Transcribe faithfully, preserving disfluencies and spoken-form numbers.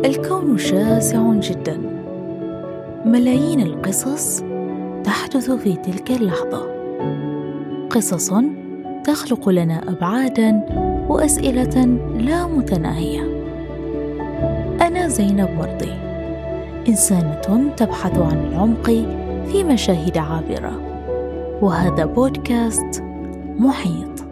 الكون شاسع جداً، ملايين القصص تحدث في تلك اللحظة، قصص تخلق لنا أبعاداً وأسئلة لا متناهية. أنا زينب وردي، إنسانة تبحث عن العمق في مشاهد عابرة، وهذا بودكاست محيط.